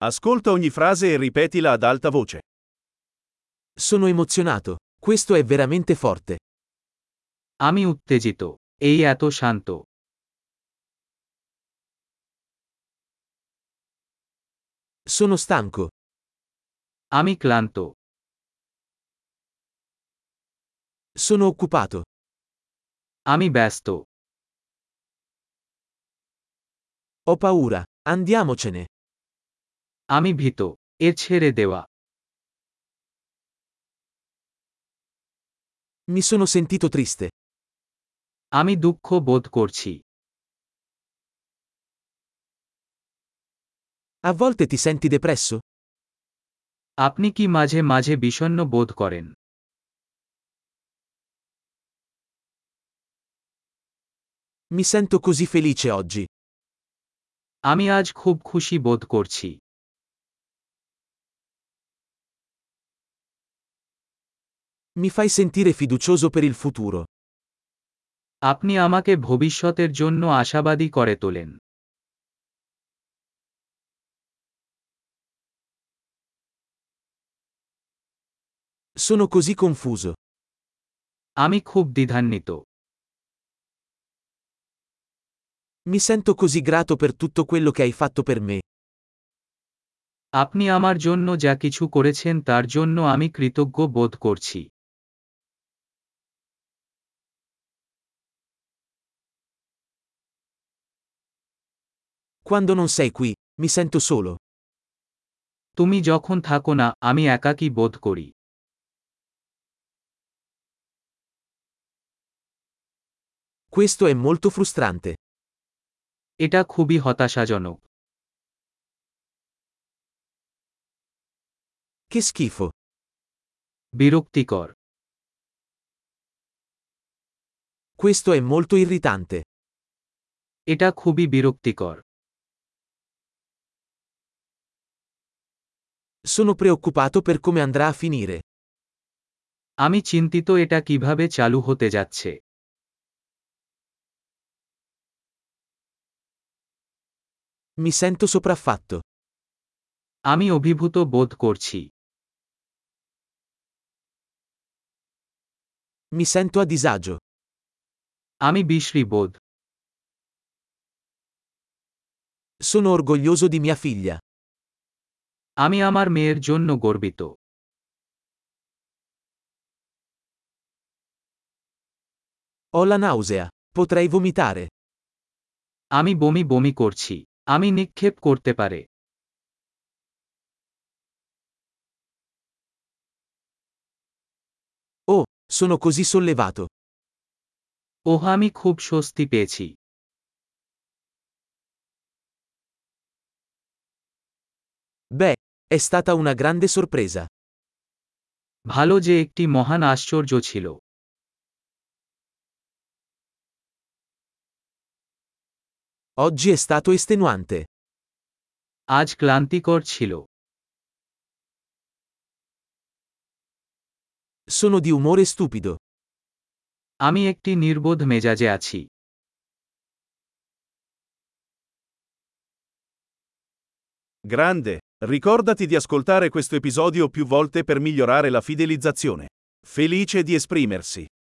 Ascolta ogni frase e ripetila ad alta voce. Sono emozionato. Questo è veramente forte. আমি উত্তেজিত। এই এত শান্ত। Sono stanco. আমি ক্লান্ত। Sono occupato. আমি ব্যস্ত। Ho paura. Andiamocene. আমি ভীত। এর ছেড়ে দেওয়া। Mi sono sentito triste. আমি দুঃখ বোধ করছি। A volte ti senti depresso? আপনি কি মাঝে মাঝে বিষণ্ণ বোধ করেন? Mi sento così felice oggi. আমি আজ খুব খুশি বোধ করছি। Mi fai sentire fiducioso per il futuro. আপনি আমাকে ভবিষ্যতের জন্য আশাবাদী করে তোলেন। Sono così confuso. আমি খুব দ্বিধান্বিত। Mi sento così grato per tutto quello che hai fatto per me. আপনি আমার জন্য যা কিছু করেছেন তার জন্য আমি কৃতজ্ঞ বোধ করছি। Quando non sei qui, mi sento solo. তুমি যখন থাকো না, আমি একাকী বোধ করি। Questo è molto frustrante. এটা খুবই হতাশাজনক। Che schifo. বিরক্তিকর। Questo è molto irritante. এটা খুবই বিরক্তিকর। Sono preoccupato per come andrà a finire. আমি চিন্তিত এটা কিভাবে চালু হতে যাচ্ছে। Mi sento sopraffatto. আমি অভিভূত বোধ করছি। Mi sento a disagio. আমি বিশ্রী বোধ। Sono orgoglioso di mia figlia. আমি আমার মেয়ের জন্য গর্বিত। Ho la nausea. Potrei vomitare. আমি বমি বমি করছি। আমি নিক্ষেপ করতে পারে। Oh, sono così sollevato. ওহ, আমি খুব স্বস্তি পেয়েছি। Beh, è stata una grande sorpresa. ভালো যে একটি মহান আশ্চর্য ছিল। Oggi è stato estenuante. আজ ক্লান্তিকর ছিল। Sono di umore stupido. আমি একটি নির্বোধ মেজাজে আছি। Grande, ricordati di ascoltare questo episodio più volte per migliorare la fidelizzazione. Felice di esprimersi.